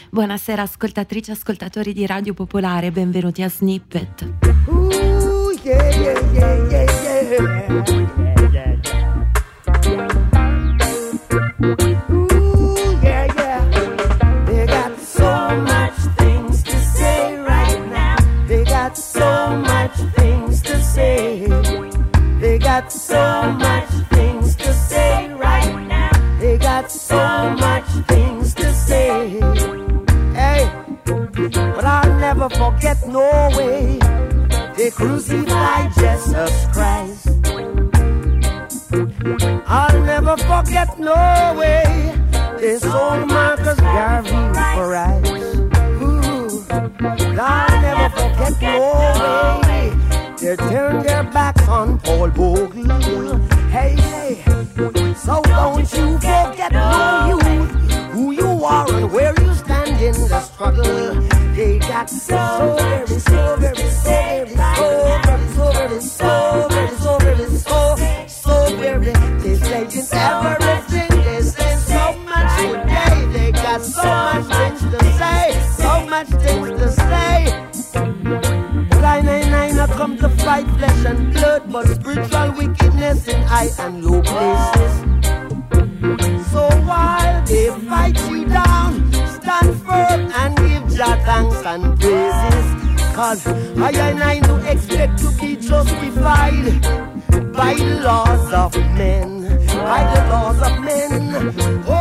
Buonasera ascoltatrici e ascoltatori di Radio Popolare, benvenuti a Snippet. Ooh, yeah, yeah, yeah, yeah, yeah. Ooh, yeah, yeah. They got so much things to say right now. They got so much things to say. They got so much things to say right now. They got so much things to say. Hey, but I'll never forget no way they crucified Jesus Christ. I'll never forget no way they sold Marcus Garvey for rice. Ooh, I'll never forget no way they turned their backs on Paul Bogle. Hey, hey, so don't you forget no youth, who you are and where you stand in the struggle. They got so very, so very, so very, so very, so very, so very, so very, so very. They say it's everything. They say so much today. They got so much things to say, so much things to say. But I not come to fight flesh and blood, but spiritual wickedness in high and low places. So while they fight you down, stand firm and give Jah thanks and praises. Cause I do expect to be justified by the laws of men, by the laws of men.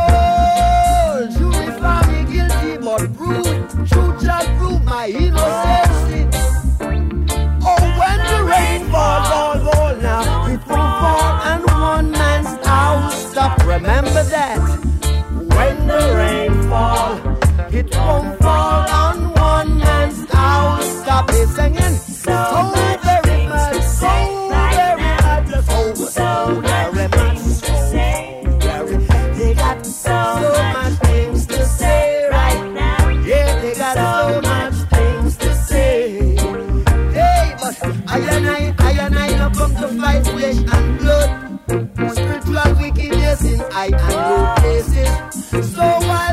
Oh, jury found me guilty, but truth shall prove my innocence. Oh, when the rain fall now, it won't fall and one man's house stop. Remember that. When the rain fall, it won't fall on one man's house. Stop it singing. So very much, so very much, so very much, so very. They got so much things to say right now. Yeah, they got so much things to say. Hey, but I and I not come to fight flesh and blood. Spiritual wickedness in high and low places. So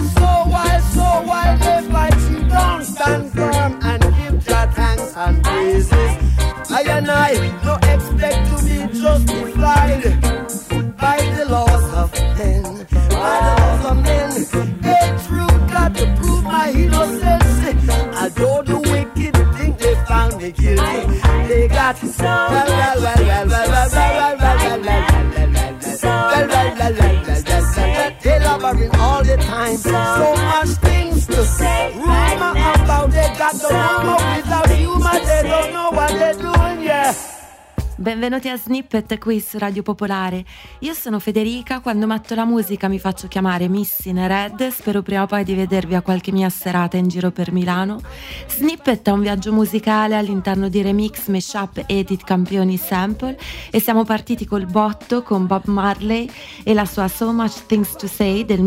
while they fight you down, stand firm and give Jah thanks and praises. I and I no expect to be justified by the laws of men, by the laws of men. Hey, truth got to prove my innocence. Although the wicked think they found me guilty, they got elaborating all the time. So much things to say. Rumor about they got the rumor without humor. They don't know what they're doing, yeah. Benvenuti a Snippet qui su Radio Popolare. Io sono Federica, quando metto la musica mi faccio chiamare Miss in Red. Spero prima o poi di vedervi a qualche mia serata in giro per Milano. Snippet è un viaggio musicale all'interno di remix, mashup, edit, campioni, sample, e siamo partiti col botto con Bob Marley e la sua So Much Things to Say del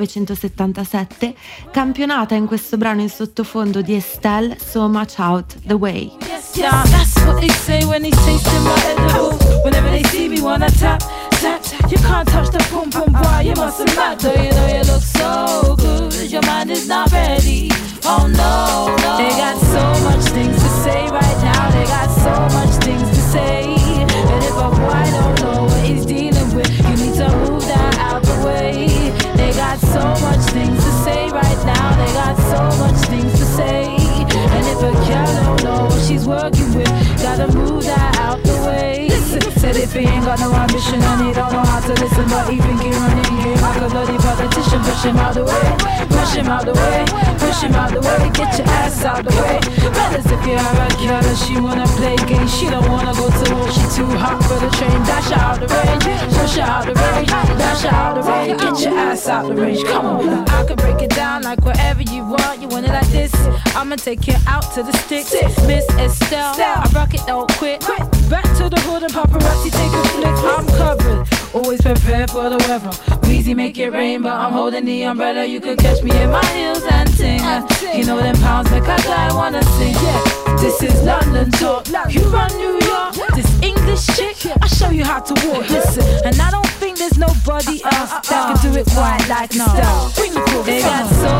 1977, campionata in questo brano in sottofondo di Estelle, So Much Out the Way. Yeah, that's what they say when they taste my edible. Whenever they see me wanna tap, tap, tap. You can't touch the pum pum boy, you must have not. Though you know you look so good, your mind is not ready. Oh no, no. They got so much things to say right now. They got so much things to say. And if a boy don't know what he's dealing with, you need to move that out the way. They got so much things to say right now. They got so much things to say. And if a girl don't know what she's working with, gotta move that out the way. Said if he ain't got no ambition and he don't know how to listen, but he think he running game like a bloody politician. Push him out the way, push him out the way, push him out the way, get your ass out the way. Fellas, if you're a girl and she wanna play games, she don't wanna go to war, she too hot for the train. Dash her out the range, push her out the range, dash her out the range, get your ass out the range. Come on, I can break it down like whatever you want. You want it like this? I'ma take you out to the sticks. Miss Estelle, I rock it, don't quit. Back to the hood and paparazzi take a flick. I'm covered, always prepared for the weather. Weezy make it rain, but I'm holding the umbrella. You could catch me in my heels and ting. You know them pounds make a guy wanna sing. Yeah, this is London talk. You run New York, this English chick, I'll show you how to walk. Listen, and I don't think there's nobody else that can do it quite like now. Bring the cool. They got so much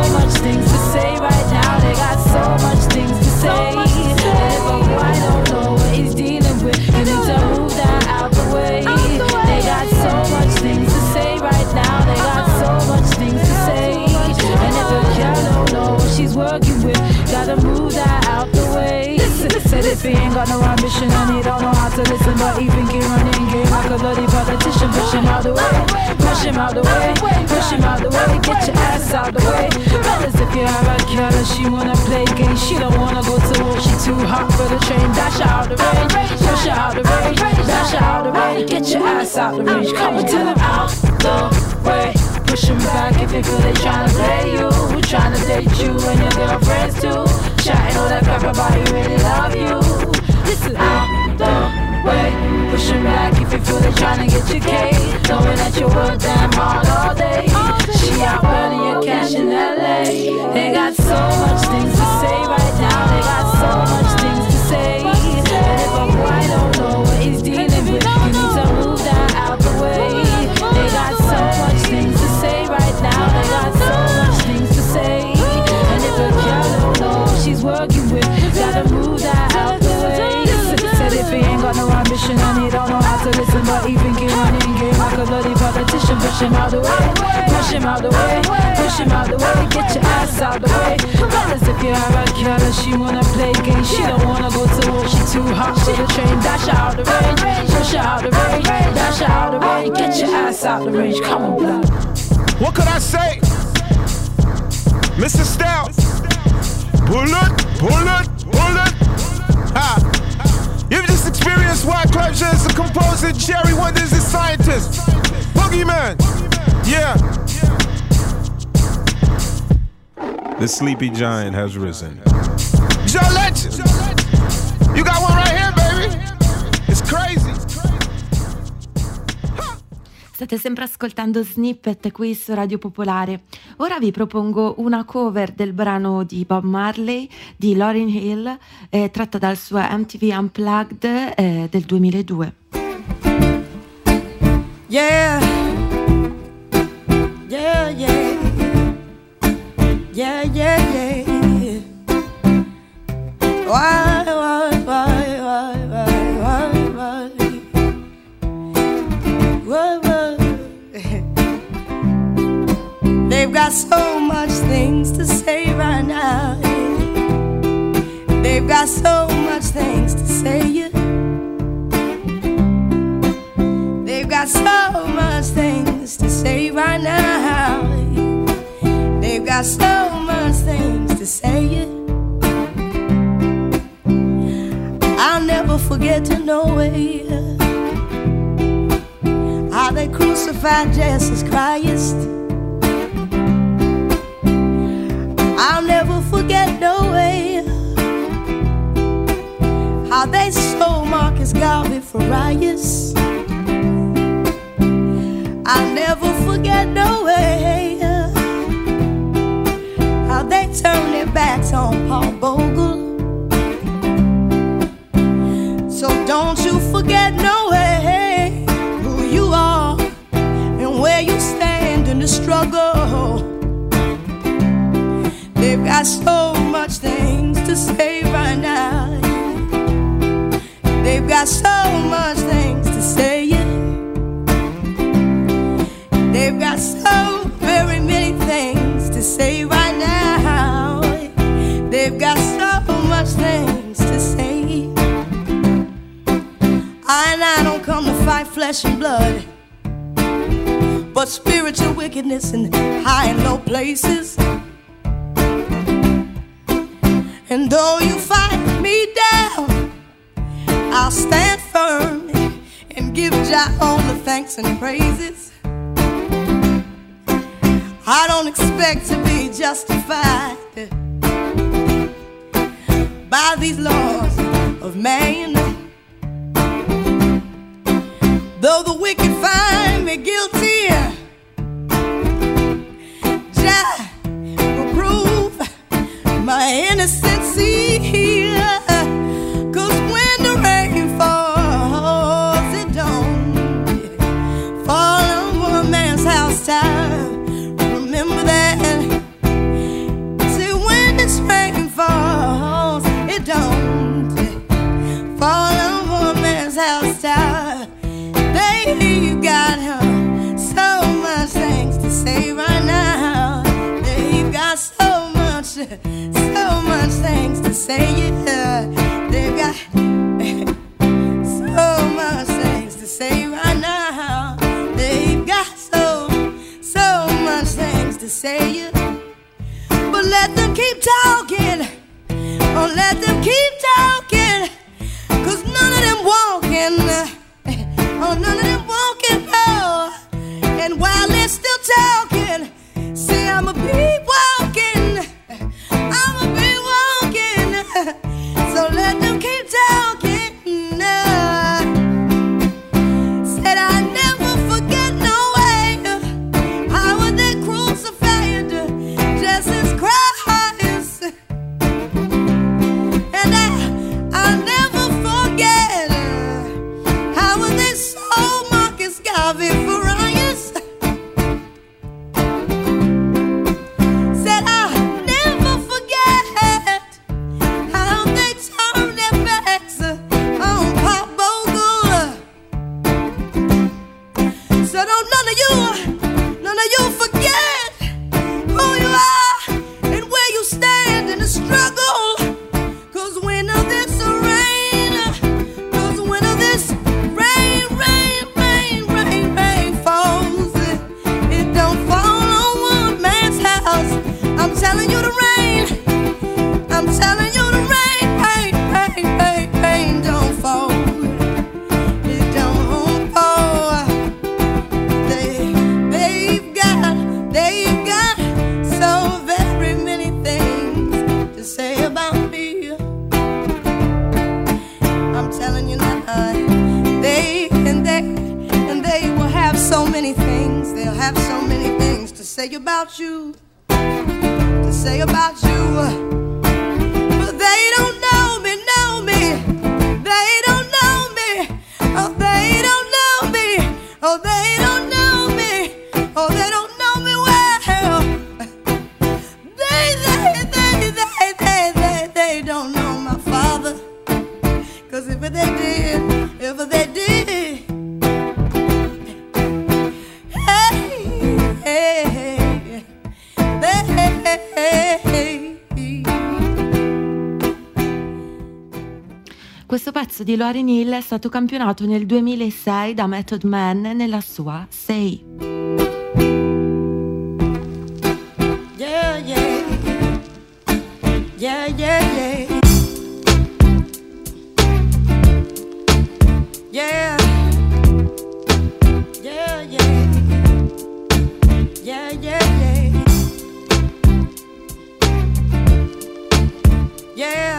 things to say right now. They got so much things to say. But I don't know what he's dealing with. You need to move that out the way. They got so much things to say right now. They got so much things to say. And if a girl don't know what she's working with, gotta move that out the way. Said if he ain't got no ambition and he don't know how to listen, but he think he running game like a bloody politician. Push him out the way, push him out the way, push him out the way, get your ass out the way. Fellas, if you have a girl and she wanna play games, she don't wanna go to war, she too hot for the train. Dash her out the range, push her out the range, dash her out the range, get your ass out the range. Come and tell him out the way. Push him back if you feel they tryna play you, tryna date you and your girlfriends too. Chatting all that crap about you really love you. Listen out the way. Push him back if you feel they tryna get your cake, knowing that you work damn hard all day. She out earning your cash in LA. They got so much things to say right now. They got so much things to say. And if a boy don't know what he's dealing with, you need to move that out the way. They got so much things to say right now. They got so much things to say. And if a girl don't know what she's working with, gotta move that out the way. Said if he ain't got no ambition and he don't know how to listen, but he think he running game like a bloody politician. Push him out the way, push him out the way, push him out the way, get your ass out the way. Fellas, if you have a girl and she wanna play games, she don't wanna go to war, she too hot for the train. Dash her out the range, push her out the range, dash her out the range, get your ass out the range. Come on, blood. What could I say? Mr. Stout, bullet, bullet, bullet. Ha! You've just experienced White Club as a composer, Jerry Wonders a scientist, Boogeyman. Yeah. The sleepy giant has risen. Joe Legend, you got one right here, baby. It's crazy. State sempre ascoltando Snippet qui su Radio Popolare. Ora vi propongo una cover del brano di Bob Marley di Lauryn Hill, tratta dal suo MTV Unplugged del 2002. Yeah, yeah, yeah, yeah, yeah, yeah. Why? They've got so much things to say right now. They've got so much things to say. They've got so much things to say right now. They've got so much things to say. I'll never forget to know it, how they crucified Jesus Christ. I'll never forget no way how they sold Marcus Garvey for riots. I'll never forget no way how they turned their backs on Paul Bogle. So don't you forget no way who you are and where you stand in the struggle. They've got so much things to say right now. They've got so much things to say. They've got so very many things to say right now. They've got so much things to say. I don't come to fight flesh and blood, but spiritual wickedness in high and low places. And though you fight me down, I'll stand firm and give Jah all the thanks and praises. I don't expect to be justified by these laws of man. Though the wicked find me guilty, Jah will prove my innocency here. 'Cause when the rain falls, it don't fall on one man's house top. Remember that say it. But let them keep talking. Oh, let them keep talking. 'Cause none of them walking. Oh, none of them walking, no. And while they're still talking, say I'ma be walking. I'ma be walking. So let them keep talking. Said I never forget, no way. How would they crucify Jesus Christ? And I'll never forget how would they sold Marcus Garvey for riots. Said I'll never forget how they turned their backs on Pop Bogle. So don't none of you forget who you are and where you stand in the struggle. 'Cause when this rain, 'cause when this rain falls, it don't fall on one man's house. I'm telling you the rain, I'm telling you the rain don't fall. It don't fall. They've got so very many things to say about me. I'm telling you now, they will have so many things. They'll have so many things to say about you, to say about you. But they don't know me. They don't know me. Oh, they don't know me. Oh, they don't know me. Oh, they don't know me well. They don't know my Father. 'Cause if they did, Questo pezzo di Lauryn Hill è stato campionato nel 2006 da Method Man nella sua Say. yeah, yeah, yeah, yeah, yeah, yeah, yeah, yeah, yeah, yeah, yeah.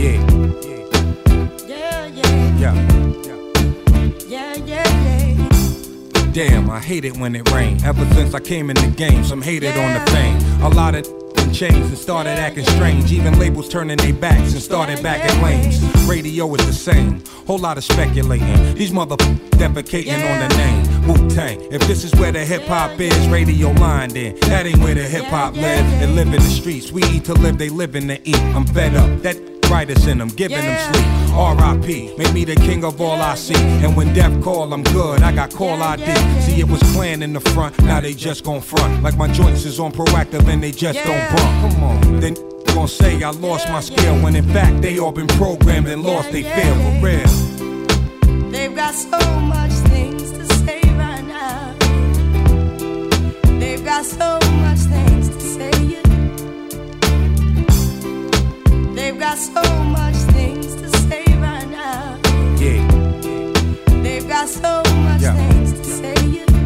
Damn, I hate it when it rains. Ever since I came in the game, some hated on the fame. A lot of changed and started acting strange. Even labels turning their backs and started back at lanes. Radio is the same, whole lot of speculating. These defecating on the name Wu-Tang. If this is where the hip-hop is, radio line then. That ain't where the hip-hop live. They live in the streets, we eat to live, they living to eat. I'm fed up, that writers in them, giving them sleep. R.I.P. Make me the king of all I see. And when death call, I'm good. I got call ID. See, it was planned in the front. Now they just gon' front. Like my joints is on proactive and they just don't bump. Come on. Then gon' say I lost my skill when in fact they all been programmed and lost they feel for real. They've got so much things to say right now. They've got so much things to say. They've got so much things to say right now. Yeah. They've got so much things to say.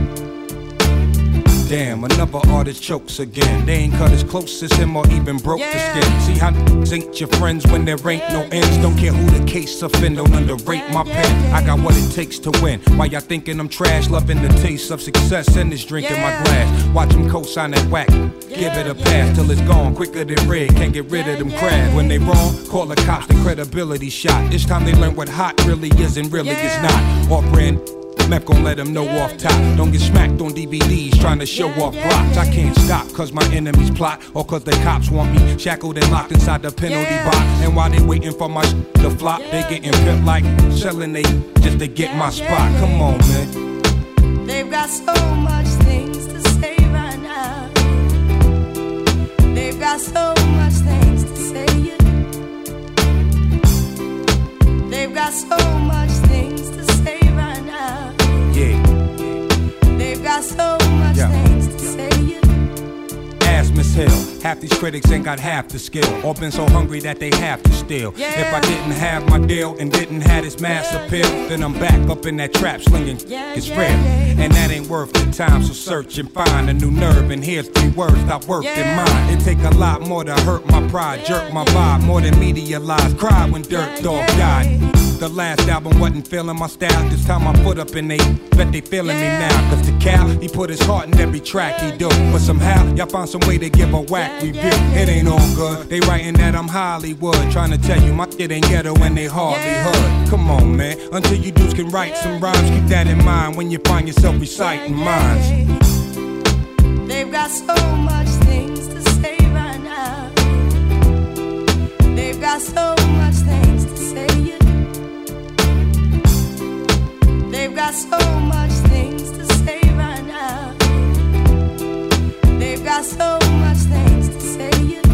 Damn, another artist chokes again. They ain't cut as close as him or even broke the skin. See how ain't your friends when there ain't no ends. Don't care who the case offend, don't underrate my pen. I got what it takes to win. Why y'all thinking I'm trash? Loving the taste of success and this drink in my glass. Watch him co-sign that whack. Give it a pass till it's gone quicker than red. Can't get rid of them crabs. When they wrong, call the cops, the credibility shot. This time they learn what hot really is and really is not. Off brand. Meth gon' let them know off top. Don't get smacked on DVDs trying to show off blocks. I can't stop cause my enemies plot or cause the cops want me shackled and locked inside the penalty box. And while they waiting for my to flop, they getting pimped like selling they just to get my spot. Come on, man. They've got so much things to say right now. They've got so much things to say. They've got so much things to say right now. They've got so much things to say. hill. Half these critics ain't got half the skill, or been so hungry that they have to steal. If I didn't have my deal and didn't have this mass appeal, then I'm back up in that trap slinging. It's real, and that ain't worth the time. So search and find a new nerve, and here's 3 words that worked in mine. It take a lot more to hurt my pride, jerk my vibe more than media lies. Cried when Dirt Dog died. The last album wasn't feeling my style. This time I put up and they bet they feeling me now. Cause the Cal, he put his heart in every track he do. But somehow, y'all found some way to give a whack review. It ain't all good. They writing that I'm Hollywood, trying to tell you my shit ain't ghetto and they hardly hood. Come on, man. Until you dudes can write some rhymes, keep that in mind when you find yourself reciting minds. They've got so much things to say right now. They've got so much things to say. They've got so much things to say right now. They've got so much things to say.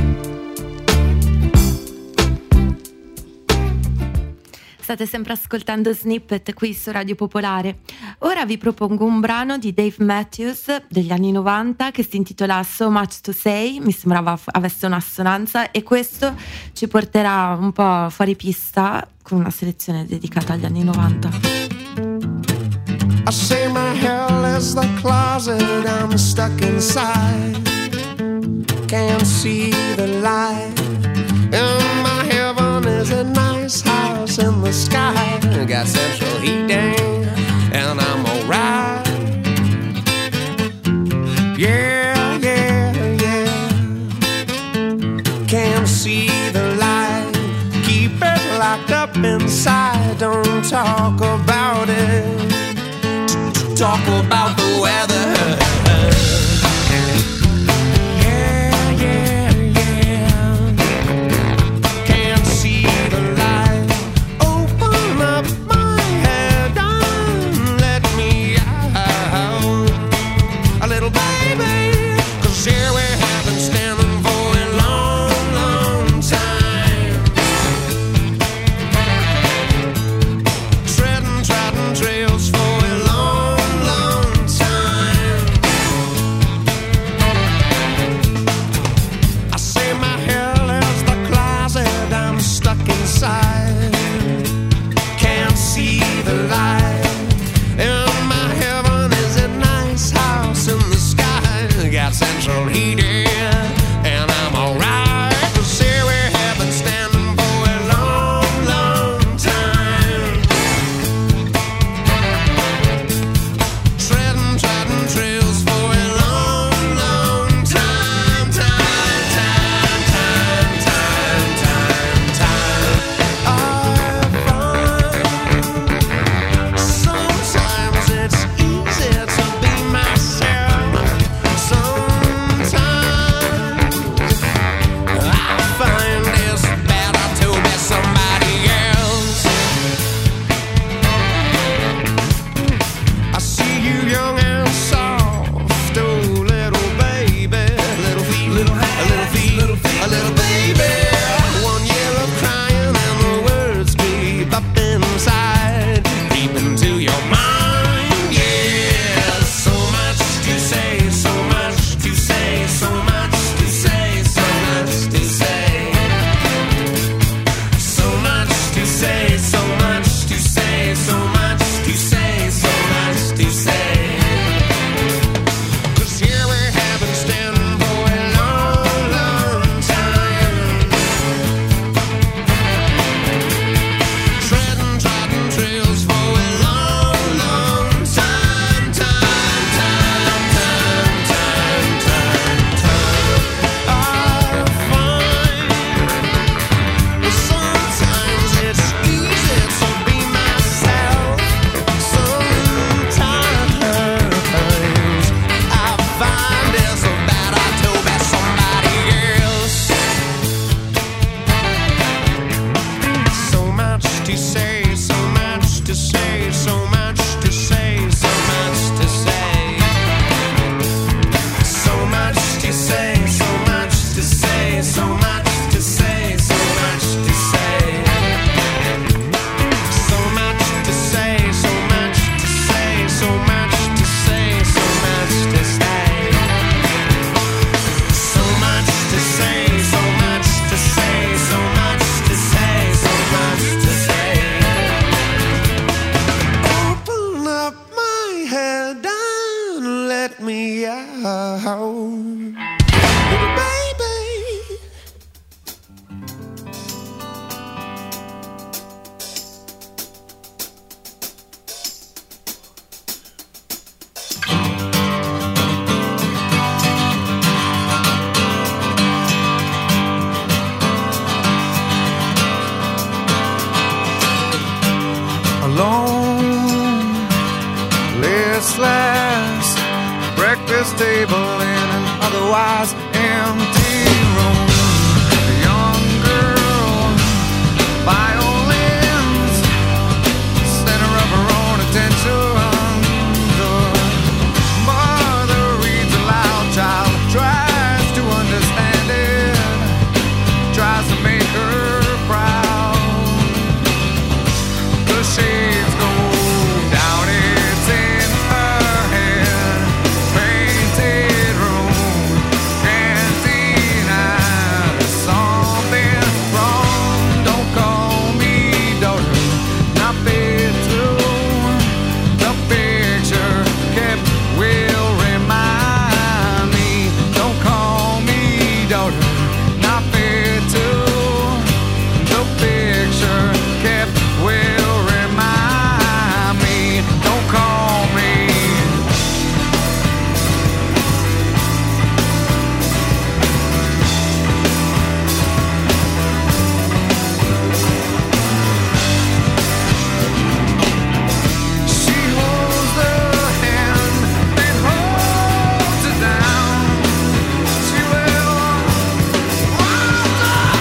State sempre ascoltando Snippet qui su Radio Popolare. Ora vi propongo un brano di Dave Matthews degli anni 90 che si intitola So Much to Say, mi sembrava avesse un'assonanza, e questo ci porterà un po' fuori pista con una selezione dedicata agli anni 90. I say my hell is the closet I'm stuck inside. Can't see the light. And my heaven is a nice house in the sky. Got central heating and I'm alright. Yeah, yeah, yeah. Can't see the light. Keep it locked up inside. Don't talk about it. Talk about the weather. Yeah, yeah, yeah. Can't see the light. Open up my head and let me out. A little baby, 'cause here we have been standing for a long, long time. Treading trails for a long, long time. breakfast table in an otherwise empty room. A young girl, violins, center of her own attention. The mother reads aloud, child tries to understand it, tries to make her proud. The shades go down, it's in her head. Painted room, cantina, there's something wrong. Don't call me daughter, not fit to. The picture kept will remind me. Don't call me daughter, not fit to. The picture kept will remind me. Don't call me. She holds the hand that holds her down. She will rise up.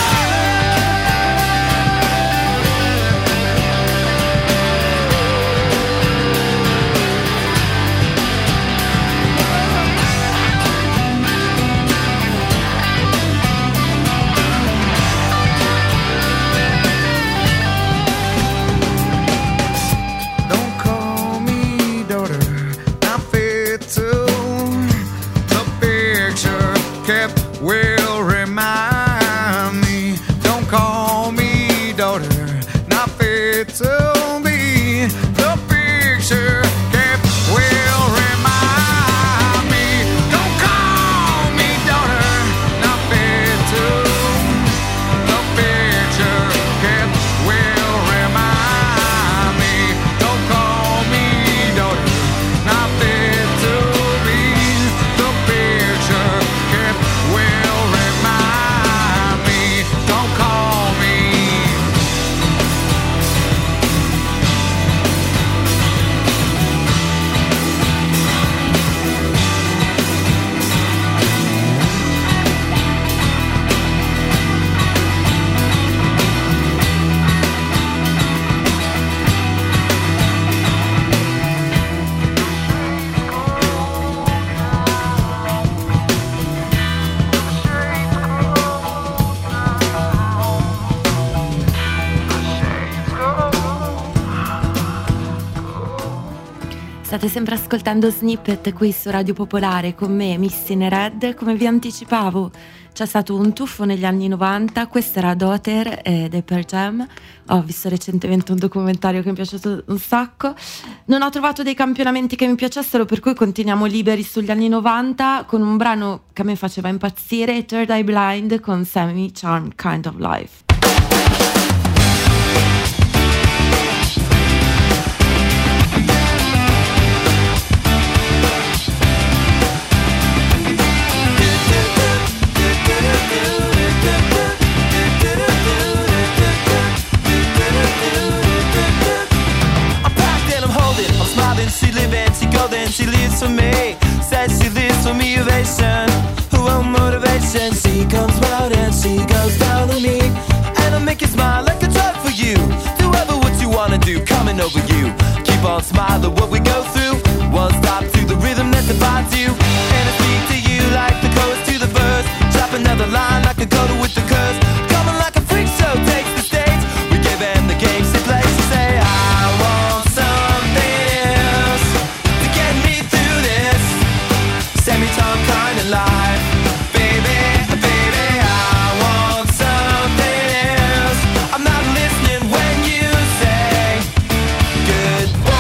Don't call me daughter, not fit to. The picture kept will remind me. Don't call me daughter, not fit to be. The picture kept will remind me. Don't call me daughter, not fit to. The picture kept will remind me. Don't call me daughter, not fit to be. The picture kept will remind me. Don't call me. State sempre ascoltando Snippet qui su Radio Popolare con me, Missy Red. Come vi anticipavo, c'è stato un tuffo negli anni 90. Questa era Daughter dei Pearl Jam. Ho visto recentemente un documentario che mi è piaciuto un sacco. Non ho trovato dei campionamenti che mi piacessero, per cui continuiamo liberi sugli anni 90 con un brano che a me faceva impazzire, Third Eye Blind con Semi Charmed Kind of Life. She live and she go, then she lives for me. Says she lives for me, ovation, her own motivation. She comes round and she goes down on me, and I'll make you smile like a drug for you. Do ever what you wanna do, coming over you. Keep on smiling what we go through. One stop to the rhythm that divides you, and I speak to you like the chorus to the verse. Drop another line like a coda with the curse. Coming like a freak show takes the stage. We give them the games they play. She say I want something else to get me through this semi-time kind of life. Baby, baby, I want something else. I'm not listening when you say goodbye.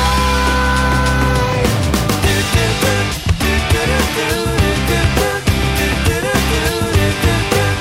Do, do, do, do, do, do, do, do, do, do, do, do, do, do.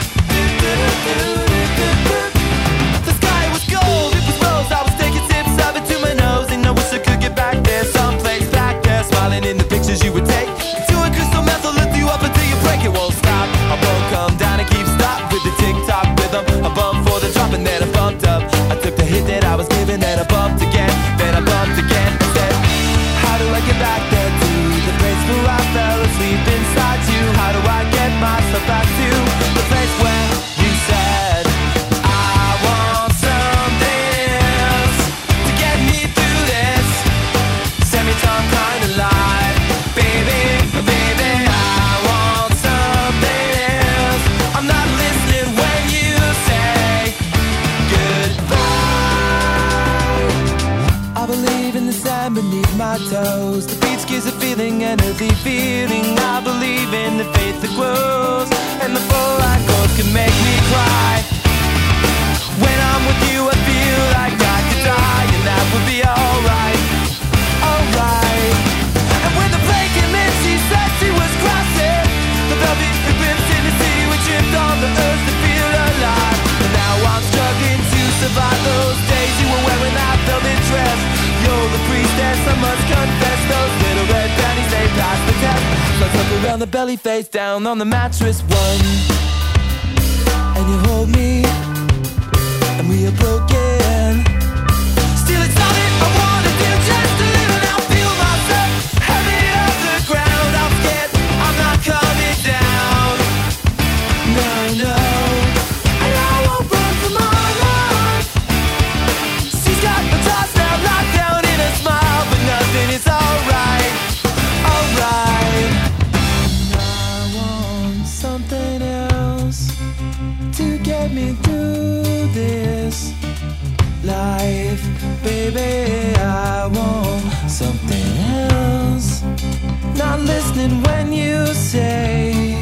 grows, and the full light goes can make me cry. When I'm with you I feel like I could die, and that would be alright, alright. And when the plane came in she said she was crossing the velvet ribbons in the sea, we tripped on the earth to feel alive. And now I'm struggling to survive those days you were wearing that velvet dress. You're the priestess, I must confess, those little red panties, they passed the test. Slugs up around the belly, face down on the mattress, one. And you hold me, and we are broken. Still it's all that I wanna do, just to live and I'll feel myself heavy off the ground. I'm scared, I'm not coming down. No, no. And I won't run from my life. She's got the toss now locked down in a smile, but nothing is alright, alright. I want something else to get me through this life, baby. I want something else. Not listening when you say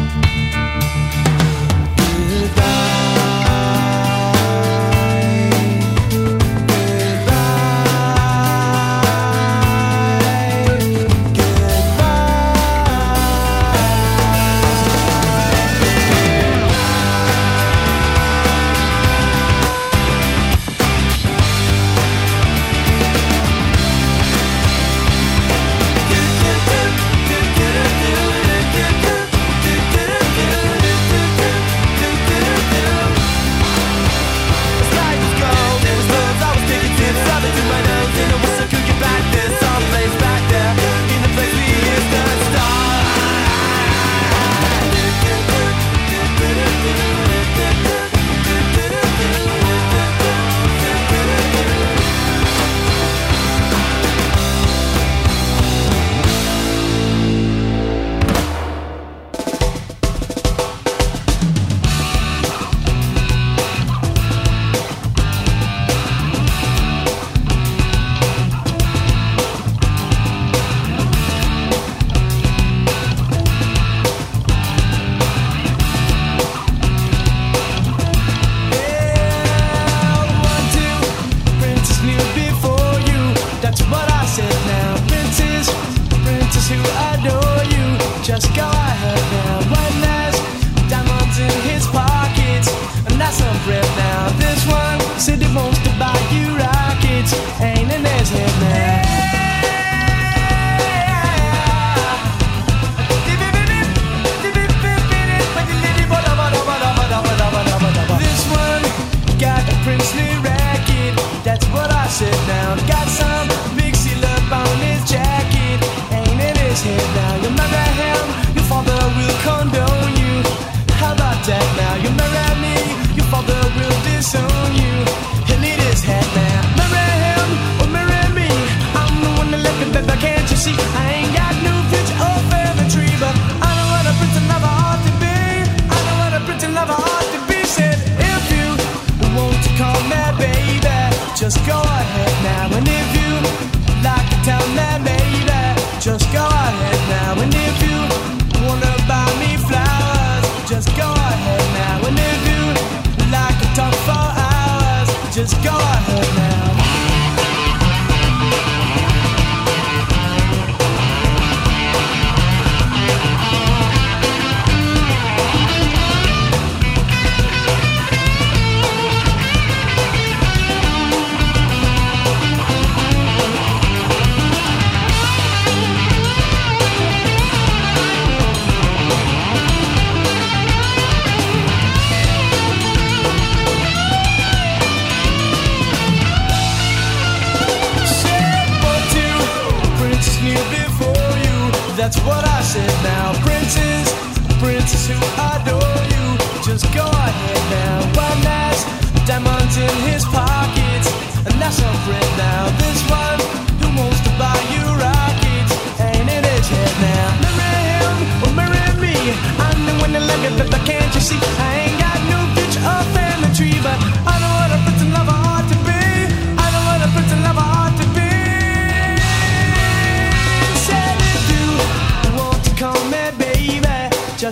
that's what I said now. Princess, princess who adore you, just go ahead now. One has diamonds in his pockets, and that's a friend now. This one who wants to buy you rockets ain't in his head now. Marry him or marry me, I'm the one that like it, but can't you see? I ain't got no picture or family tree, but I know what a prince and lover ought to be. I know what a prince and lover ought to be. Said if you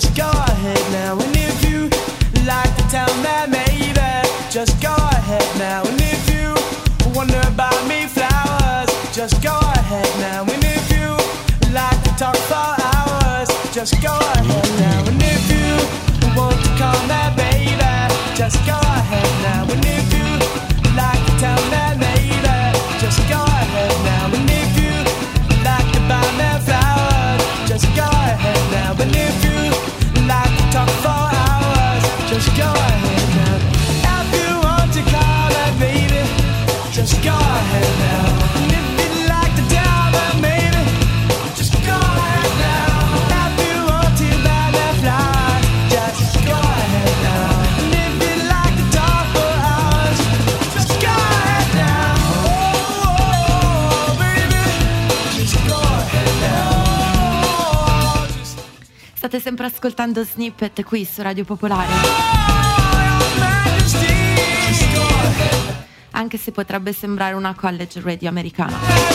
just go ahead now. And if you like to tell me maybe, just go ahead now. And if you wonder about me flowers, just go ahead now. And if you like to talk for hours, just go ahead now. And if you want to call me baby, just go ahead now. And if you like to tell me maybe, just go ahead now. And if you like to buy me flowers, just go ahead now. And if you like to talk for hours, just go ahead now. If you want to call me baby, just go ahead now. And if you like to tell me maybe, just go ahead now. If you want to buy me flowers, just go ahead now. And if you like to talk for hours, just go ahead now. Oh, baby, just go ahead now. State sempre ascoltando Snippet qui su Radio Popolare. Anche se potrebbe sembrare una college radio americana.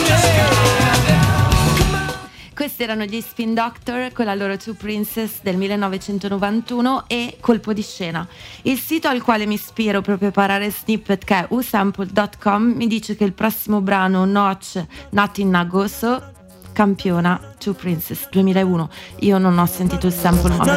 Questi erano gli Spin Doctor con la loro Two Princess del 1991 e Colpo di scena. Il sito al quale mi ispiro per preparare Snippet, che è usample.com, mi dice che il prossimo brano, Notch Nothing Nagoso, campiona Two Princess 2001. Io non ho sentito il sample, ma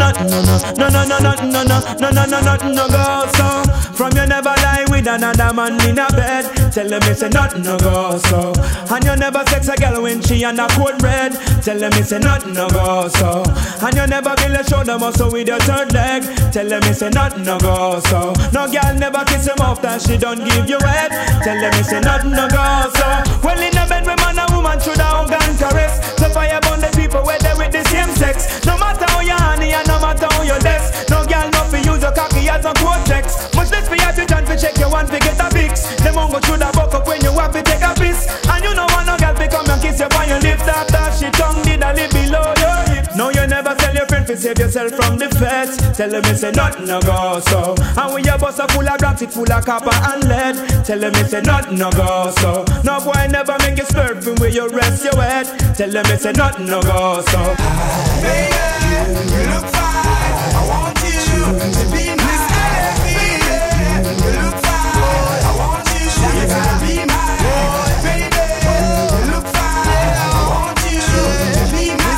no go so. From you never lie with another man in a bed. Tell them it's a nothing no go so. And you never sex a girl when she on a cold red. Tell them it's a nothing no go so. And you never build a shoulder muscle with your third leg. Tell them it's a nothing no go so. No girl never kiss him off that she don't give you head. Tell them it's a nothing no go so. Well in a bed with man and woman should have gun caress. So fire burn the people where they with the same sex. No matter how you honey and no matter how you desk. No girl no fi use your cocky as a cortex. Much less for you to chance to check your one to get a fix. Them won't go through the buck up when you have to take a piss. And you know want no girl to come and kiss you on your lips. After she tongue did a lip below your hips. No you never tell your friend to save yourself from the feds. Tell them it's a nothing no go so. And when your bus are full of grams, it full of copper and lead. Tell them it's a nothing no go so. No boy never make you swerve from where you rest your head. Tell them it's a nothing no go so. Baby, you look fine. I want you to be my baby. You look fine. I want you to be my baby. You look fine. I want you to be my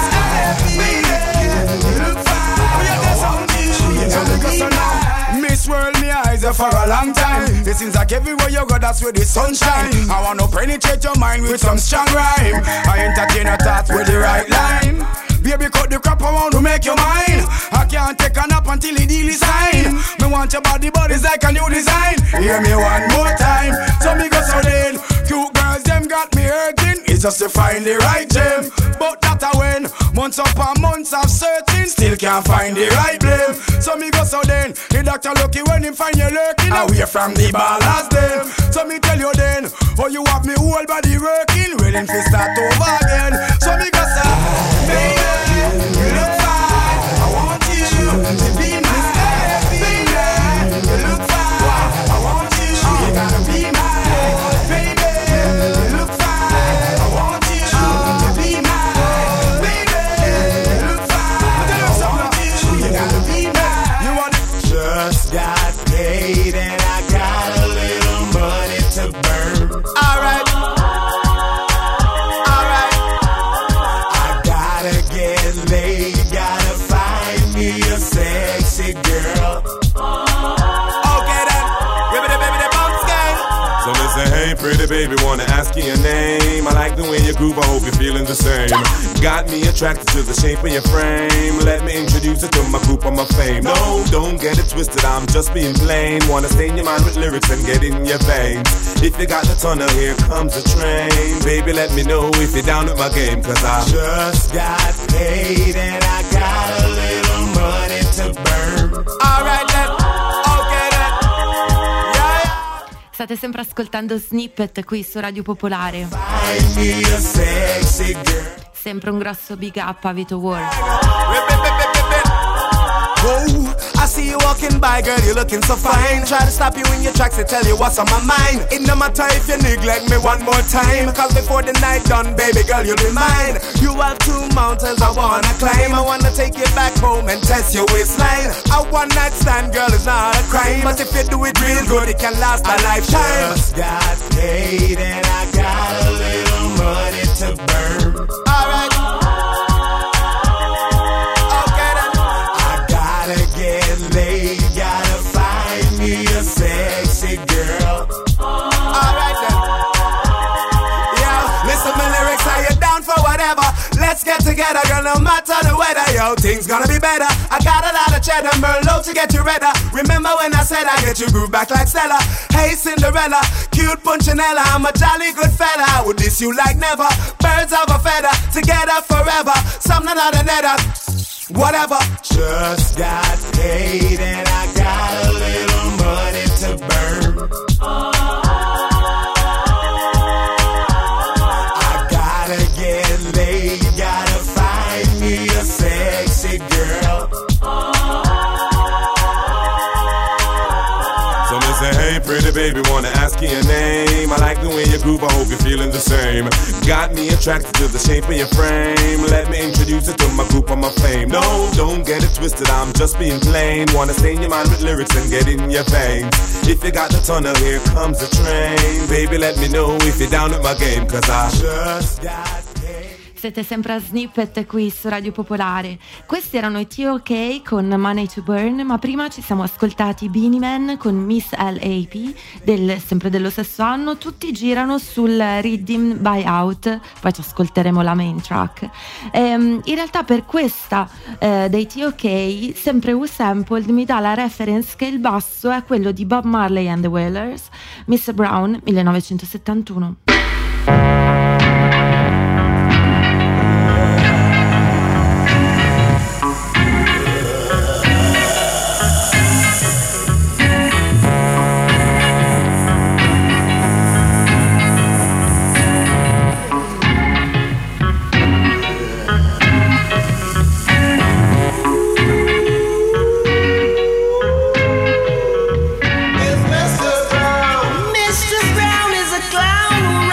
baby. You look fine. I want you to be my Miss World, me eyes are for a long time. It seems like everywhere you go, that's where the sunshine. I wanna penetrate your mind with some strong rhyme. I entertain your thoughts with the right line. Baby, cut the crap, I want to make you mine. I can't take a nap until the deal is signed. Me want your body, but it's like a new design. Hear me one more time, so me go so then. Cute girls, them got me hurting. It's just to find the right gem. But that I win. Months upon months of searching, still can't find the right blame. So me go so then. The doctor lucky when him find you lurking away from the ballast them. So me tell you then, oh you have me whole body working, willing to start over again. So me go so, baby, you look fine. I want you to be my baby. You look fine. I want you to be my baby. You look fine. I want you to be my baby. You look fine. I want you to be my. You want just got paid and I got a little money to burn. All right. Sexy girl. Okay then, give me the baby the bounce game. So me say, hey pretty baby, wanna ask you your name. I like the way you groove, I hope you're feeling the same. Got me attracted to the shape of your frame. Let me introduce you to my group of my fame. No, don't get it twisted, I'm just being plain. Wanna stain your mind with lyrics and get in your veins. If you got the tunnel, here comes the train. Baby, let me know if you're down with my game, cause I just got paid and I got a little money to burn. Alright then, okay then. Yeah. State sempre ascoltando Snippet qui su Radio Popolare. Sempre un grosso big up a Vito World. Oh, I see you walking walking by, girl, you're looking so fine. Try to stop you in your tracks and tell you what's on my mind. It no matter if you neglect me one more time, cause before the night done, baby girl, you'll be mine. You have two mountains I wanna climb. I wanna take you back home and test your waistline. A one night stand, girl, is not a crime, but if you do it real good, it can last a lifetime. Just got paid and I got a little money to burn. Alright. Okay then. I gotta get laid, gotta find me a sexy girl. Alright then. Yo, listen my lyrics, are you down for whatever? Let's get together, girl, no matter the weather. Yo, things gonna be better. I got a lot of cheddar, Merlot to get you redder. Remember when I said I get you groove back like Stella? Hey Cinderella, cute Punchinella, I'm a jolly good fella. I would diss you like never. Birds of a feather, together forever. Something out of nether, whatever. Just got paid and I got a little money to burn. I gotta get laid, gotta find me a sexy girl. So me say, hey pretty baby, wanna ask you your name. I like the way you groove, I hope you're feeling the same. Got me attracted to the shape of your frame. Let me introduce you to my group of my fame. No, don't get it twisted, I'm just being plain. Wanna stain your mind with lyrics and get in your veins. If you got the tunnel, here comes the train. Baby, let me know if you're down with my game, cause I just got paid. Siete sempre a Snippet qui su Radio Popolare. Questi erano i T.O.K. con Money to Burn, ma prima ci siamo ascoltati Beanie Man con Miss L.A.P. sempre dello stesso anno. Tutti girano sul Rhythm Buyout, poi ci ascolteremo la main track. In realtà per questa dei T.O.K. sempre U-Sampled mi dà la reference che il basso è quello di Bob Marley and the Wailers, Mr. Brown 1971. Mr. Brown is a clown.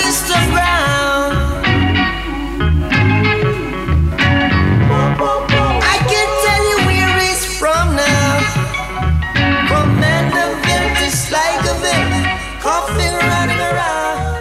Mr. Brown. I can tell you where he's from now. From Mandeville to Sligoville, coughing, running around.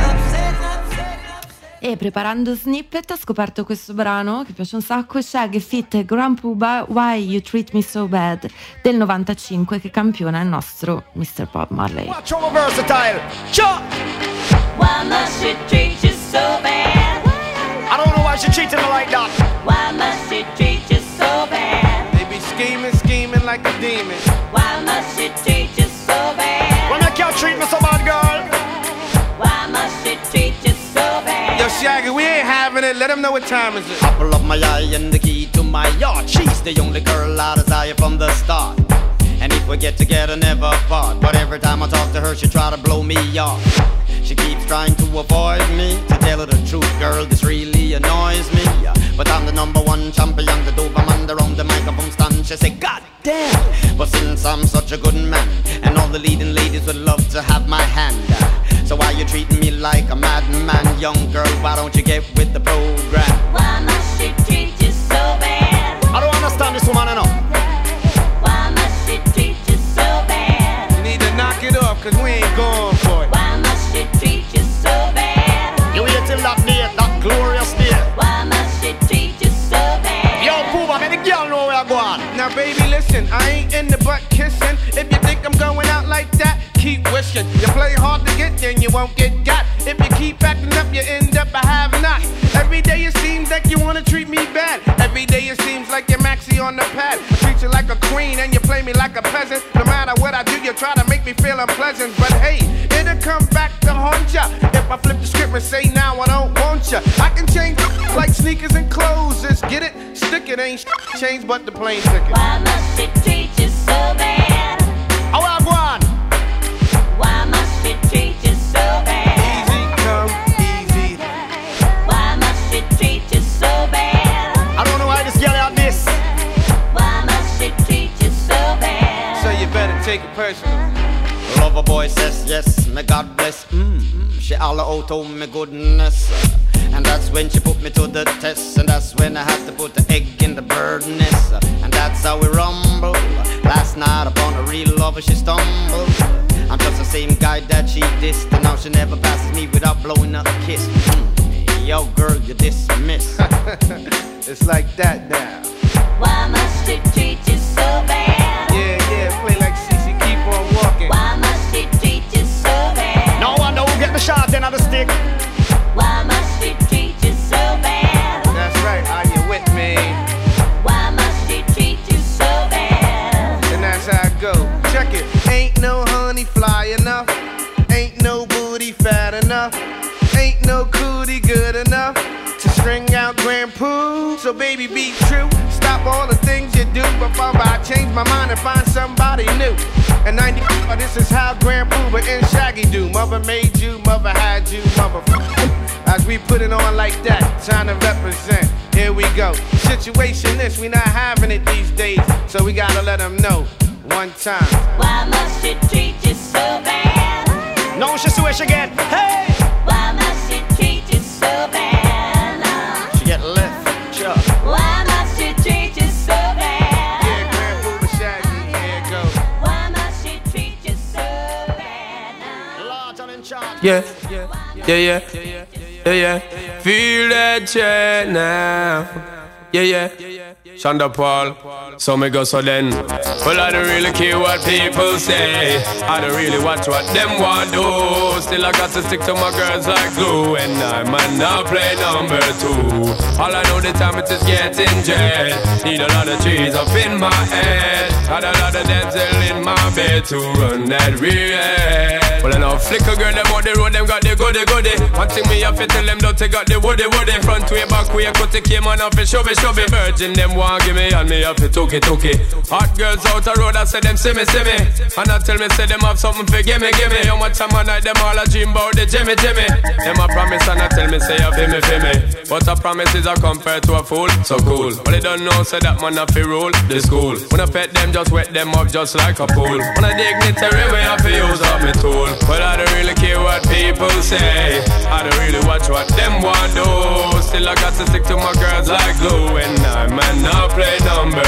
E preparando Snippet ho scoperto questo brano che piace un sacco, Shaggy feat. Grandpa Why You Treat Me So Bad del 95, che campiona il nostro Mr. Bob Marley. Watch over versatile. Cha! Why must she treat you so bad? I don't know why she treating me like that. Why must she treat you so bad? They be scheming like a demon. Why must she treat you so bad? When I can't treat me so bad, girl. Why must she treat you so bad? Yo, Shaggy, we ain't having it. Let them know what time is it. Apple of my eye and the key to my yard. She's the only girl I desire from the start. And if we get together, never part. But every time I talk to her, she try to blow me off. She keeps trying to avoid me. To tell her the truth, girl, this really annoys me. But I'm the number one champion, the dope I'm under on the microphone stand. She say, God damn. But since I'm such a good man, and all the leading ladies would love to have my hand, so why you treating me like a madman? Young girl, why don't you get with the program? Why must she treat you so bad? I don't understand this woman enough. Why must she treat you so bad? You need to knock it off, cause we ain't going for it. Why must she treat you so bad? You wait till that day, that glorious day. Why must she treat you so bad? Yo, Pooh, make the girl know where I go on. Now, baby, listen, I ain't in the butt kissing. If you think I'm going out like that, keep wishing. You play hard to get, then you won't get got. If you keep acting up, you end up a have-not. Every day it seems like you wanna treat me bad. Every day it seems like you're maxi on the pad. I treat you like a queen and you play me like a peasant. No matter what I do, you try to make me feel unpleasant. But hey, it'll come back to haunt ya if I flip the script and say now I don't want ya. I can change like sneakers and clothes. Just get it, stick it, ain't change but the plane ticket. Why must she treat you so bad? How I go on? Why must she treat you so bad? Easy come easy. Why must she treat you so bad? I don't know why this girl had this. Why must she treat you so bad? So you better take it personal. Lover boy says yes, may God bless. She all out on me goodness. And that's when she put me to the test. And that's when I had to put the egg in the bird's nest. And that's how we rumble. Last night upon a real lover she stumbled. I'm just the same guy that she dissed. And now she never passes me without blowing up a kiss. Yo girl, you dismiss. It's like that now. Why must she treat you so bad? Yeah, play like CC, keep on walking. Why must she treat you so bad? No one know who get the shot end of the stick. Why must she treat you so bad? That's right, are you with me? Why must she treat you so bad? And that's how it go. Check it. Ain't no honey fly enough. Ain't no booty fat enough. Ain't no cootie good enough to string out Grand Poo. So baby, be true. Stop all the things you do before I change my mind and find somebody new. And 94, this is how Grand Pooba and Shaggy do. Mother made you, mother had you, mother. As we put it on like that, trying to represent. Here we go. Situation is, we not having it these days. So we gotta let them know one time. Why must she treat you so bad? No, she swish again. Hey! Why must she treat you so bad? She get left, chuck. Why must she treat you so bad? Yeah, Grand Pooba Shaggy, here it go. Why must she treat you so bad? Yeah. Feel that jet now. Yeah. Shonda Paul, so me go so then. Well, I don't really care what people say. I don't really watch what them want do. Still I got to stick to my girls like glue. And I might not play number 2. All I know the time it is getting jet. Need a lot of trees up in my head. Got a lot of damsel in my bed to run that real. Well, I know flicker girl, them on the road, them got the goody. One thing me have to tell them, don't they got the woody. Front way, back way, cut the came on off and shove it. Virgin, them want give me, and me have to took it. Hot girls out the road, I say them see me. And I tell me, say them have something for gimme. How much time I night, them all a dream about the Jimmy. Them a promise, and I tell me, say you feel me. But a promise is a compared to a fool, so cool. But they don't know, say that man have to rule the school. When I pet them, just wet them up just like a pool. When I dignitary, we have to use up me tool. But I don't really care what people say. I don't really watch what them want do. Still I got to stick to my girls like glue. And I might not play number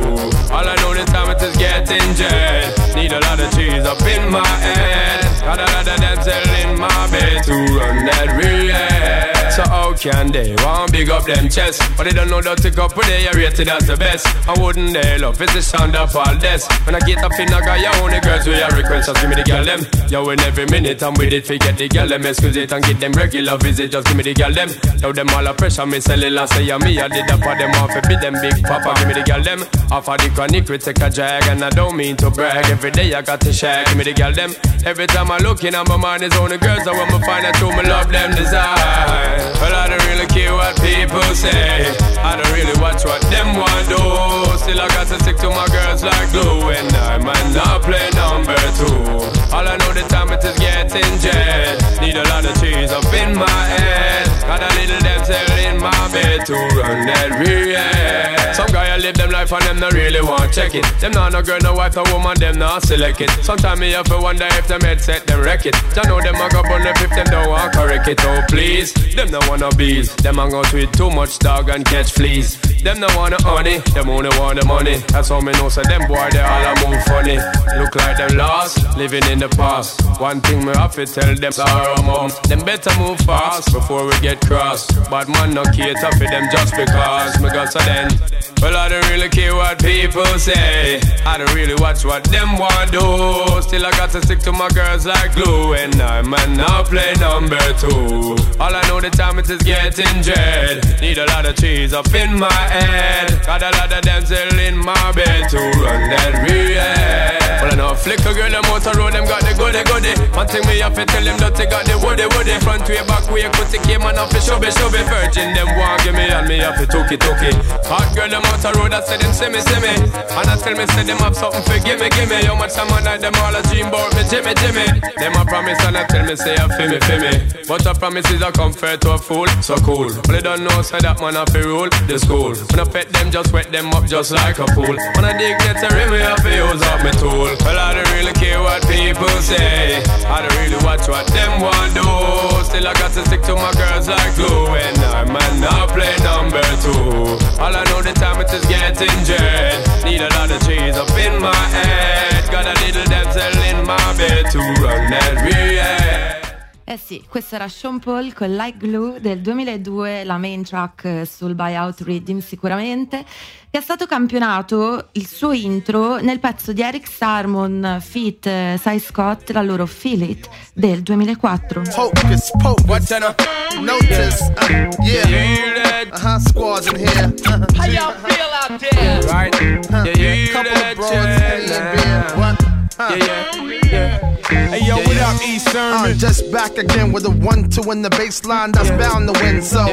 2. All I know this time it is getting jet. Need a lot of cheese up in my head. Got a lot of damsel in my bed to run that real head. So how can they want big up them chests? But they don't know that to couple they are rated as the best. I wouldn't they love it's the sound of all this. When I get up in I got your own girls with your request. Just give me the girl them. Yo, in every minute I'm with it. Forget the girl them. Excuse it and get them regular visit. Just give me the girl them. Yo, them all a pressure. Me sell it last say me. I did that for them off. Be them big papa. Give me the girl them. Off of the chronic we take a drag. And I don't mean to brag. Every day I got to share. Give me the girl them. Every time I look in my mind is only girls. I want me find out who me love them desire. Well, I don't really care what people say. I don't really watch what them want do. Still I got to stick to my girls like glue. And I might not play number 2. All I know the time it is getting jet. Need a lot of cheese up in my head. Got a little damsel in my bed to run that real head. Some guy I live them life and them not really want check it. Them not no girl, no wife, no woman, them not select it. Sometimes me have to wonder if them headset them wreck it. I know them a go on the if them don't want correct it. Oh please, them no wanna bees. Them a go tweet too much dog and catch fleas. Them no wanna honey, them only want the money. That's how me know so them boy they all a move funny. Look like them lost, living in the past. One thing me have to tell them sorrow mom. Them better move fast before we get crossed. Bad man no cater for them just because me got so then. Well I don't really care what people say. I don't really watch what them want do. Still I got to stick to my girls like glue. And I might not play number 2. All I know the time it is getting dread. Need a lot of cheese up in my head. Got a lot of damsel in my bed to run that real head. Well I know flicker girl them out the road them got the goody goody. One thing me have to tell them that they got the woody woody. Front way back way cut the came and off the shubby shubby. Virgin them want give me and me have to took it. Hot girl them out the road I say them see me. And I tell me say them have something for gimme. How much time I night them all a dream about me Jimmy. Them a promise and I tell me say a feel me. But a promise is a comfort to a fool, so cool. But they don't know say that man have to rule the school. When I pet them just wet them up just like a pool. When I dig get a rim me have to use up my tool. Well I don't really care what people say. I don't really watch what them want do. Still I got to stick to my girls like glue. And I might not play number 2. All I know the time it is getting jet. Need a lot of cheese up in my head. Got a little damsel in my bed to run that real head. Eh sì, questo era Sean Paul con Like Glue del 2002, la main track sul Buyout Rhythm sicuramente, che è stato campionato il suo intro nel pezzo di Eric Sermon feat. Cy Scott, la loro Feel It del 2004. Hocus pocus, notice, yeah, squads in here. How y'all feel out there? Right, couple of broads, beer, what? Hey yo, what up, East Sermon? Just back again with a 1-2 in the baseline that's bound to win. So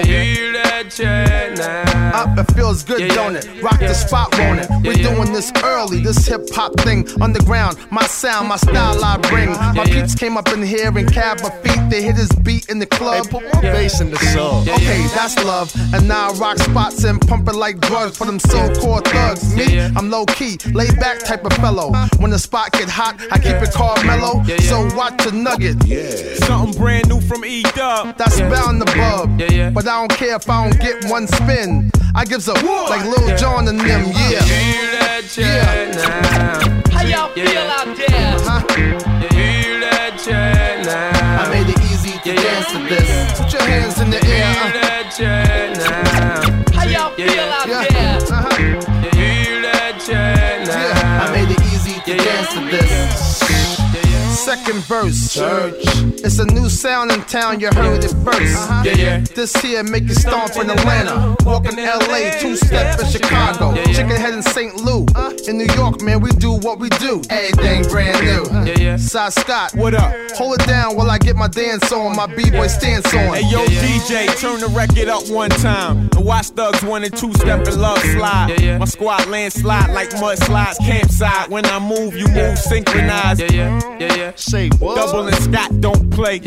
up, it feels good, don't it? Rock the spot, won't it? We're doing this early, this hip hop thing underground. My sound, my style I bring. My peeps came up in here and cab my feet. They hit his beat in the club. Hey, put more bass in the song. Okay, that's love. And now I rock spots and pump it like drugs for them so-called thugs. Me, I'm low key, laid back type of fellow. When the spot get hot, I keep it called mellow. So watch the nugget. Something brand new from E-Dub. That's bound to bub. But I don't care if I don't get one spin. I gives up like Lil Jon and them. How y'all feel out there? I made it easy to dance to this. Put your hands in the air. How y'all feel out there? I made it easy to dance to this. Second verse, church. It's a new sound in town, you heard it first. This here make you stomp in Atlanta. Walk in LA, two-step in Chicago. Chicken head in St. Lou. In New York, man, we do what we do. Everything brand new. Cy Scott, what up? Hold it down while I get my dance on, my B-boy stance on. Hey yo, DJ, turn the record up one time. The Watch Thugs 1 and 2 step and love slide. My squad landslide like mudslides, campsite. When I move, you move synchronized. Say what? Double and Scott don't play.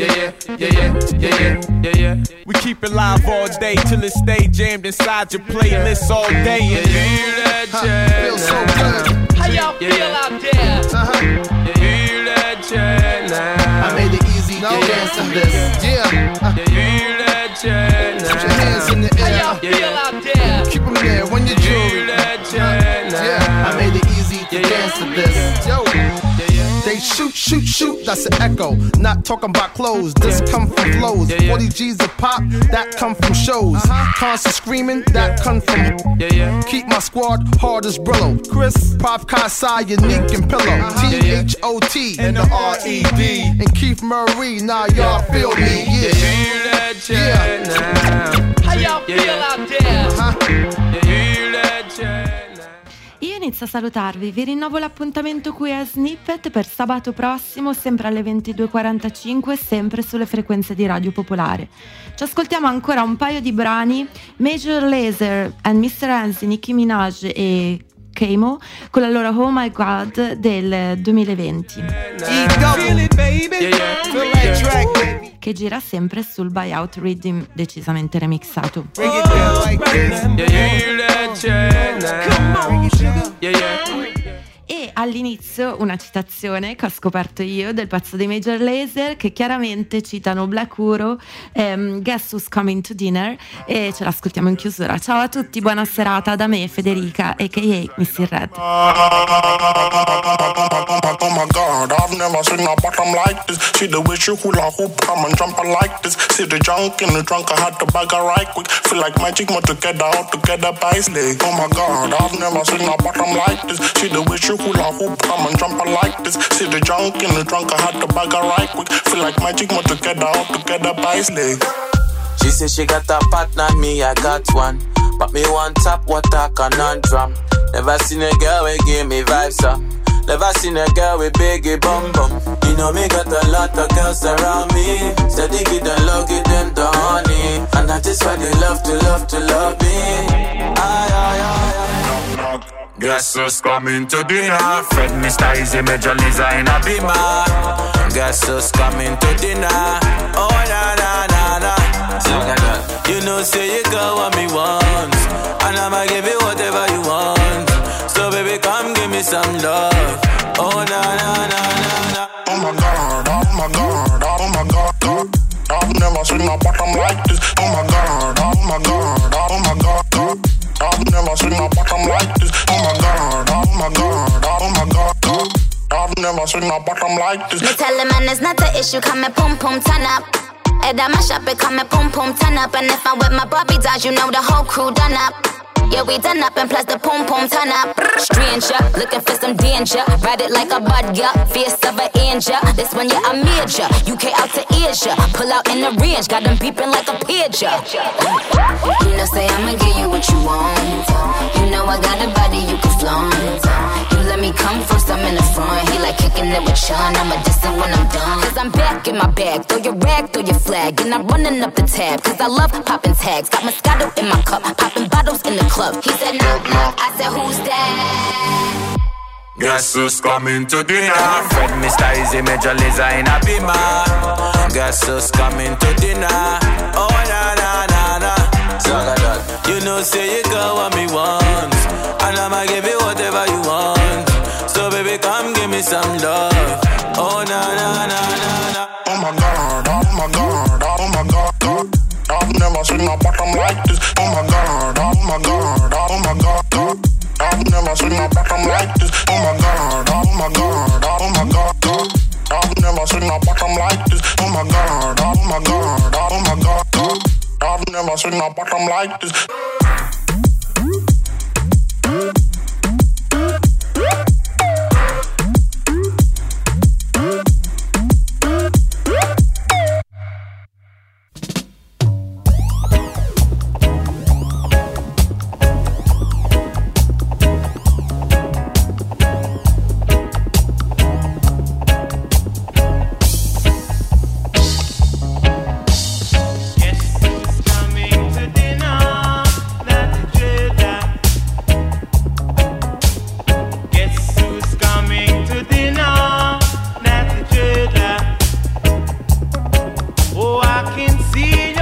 We keep it live all day till it stay jammed inside your playlist all day. Feels so good. How y'all feel out there? I made it easy No, dance to this. Yeah. Feel that chain now. Put your hands in the air. How y'all feel out there? Keep them there when you jewelry. Feel that chain now. Yeah, I made it easy to dance to this. Yo. They shoot, shoot, shoot, that's an echo. Not talking about clothes, this come from flows. 40 G's a pop, that come from shows. Constant screaming, that come from. Keep my squad hard as Brillo. Chris, Pop Kasai, Unique and Pillow. T-H-O-T and the R-E-D. And Keith Murray, now y'all feel me, yeah. How y'all feel out there? Io inizio a salutarvi, vi rinnovo l'appuntamento qui a Snippet per sabato prossimo, sempre alle 22:45, sempre sulle frequenze di Radio Popolare. Ci ascoltiamo ancora un paio di brani, Major Lazer and Mr. Hands, Nicki Minaj e Kamo con la loro Oh My God del 2020 che gira sempre sul Buyout Rhythm decisamente remixato. E all'inizio una citazione che ho scoperto io del pezzo dei Major Lazer, che chiaramente citano Black Uhuru, Guess Who's Coming to Dinner, e ce l'ascoltiamo in chiusura. Ciao a tutti, buona serata da me, Federica a.k.a. Missy Red. Oh my God, I've never seen a bottom like this. See the way she hula hoop, come and jump like this. See the junk in the trunk, I had to bag her right quick. Feel like magic, more together, all together by slay. Oh my God, I've never seen a bottom like this. See the way she hula hoop, come and jump like this. See the junk in the trunk, I had to bag her right quick. Feel like magic, more together, all together by slay. She said she got a partner, me I got one. But me one top, what a conundrum. Never seen a girl who give me vibes up. Never seen a girl with biggie bum bum. You know me got a lot of girls around me. Steady get and love, get them the honey. And that is why they love me. Guess who's coming to dinner? Fred, Mr. Easy, Major Lazer in a beamer. Guess who's coming to dinner? Oh na na na na. You know say you got what me want, and I'ma give you whatever you want. So baby come give me some love. Oh na na na na na. Oh my God, oh my God, oh my God. I've never seen a bottom like this. Oh my God, oh my God, oh my God. I've never seen a bottom like this. Oh my God, oh my God, oh my God. I've never seen a bottom like this. Me tell the man it's not the issue, come and pum pum turn up. And I mash up it, come and pum pum turn up. And if I'm with my Bobby dolls, you know the whole crew done up. Yeah, we done up and plus the pum pum turn up. Stranger, looking for some danger. Ride it like a bud, yeah, fierce of an angel. This one, yeah, I major. UK out to Asia. Pull out in the range, got them beeping like a pager. You know, say I'ma give you what you want. You know I got a body you can flaunt. You let me come first, I'm in the front. He like kicking it with Sean, I'ma diss it when I'm done. Cause I'm back in my bag, throw your rag, throw your flag. And I'm running up the tab, cause I love popping tags. Got Moscato in my cup, popping bottles in the club. He said knock knock, I said who's that? Guess who's coming to dinner? Fred, Mr. Easy, Major Lazer in a beamer. Guess who's coming to dinner? Oh na na na na. You know say you got what me want, and I'ma give you whatever you want. So baby come give me some love. Oh na na na na na. Oh my God, oh my God, oh my God. I've never seen a bottom like this. Oh my God, oh my God, oh my God. I've never seen a bottom like this. Oh my God, oh my God, oh my God. I've never seen a bottom like this. Oh my God, oh my God, oh my God. I've never seen a bottom like this. See you.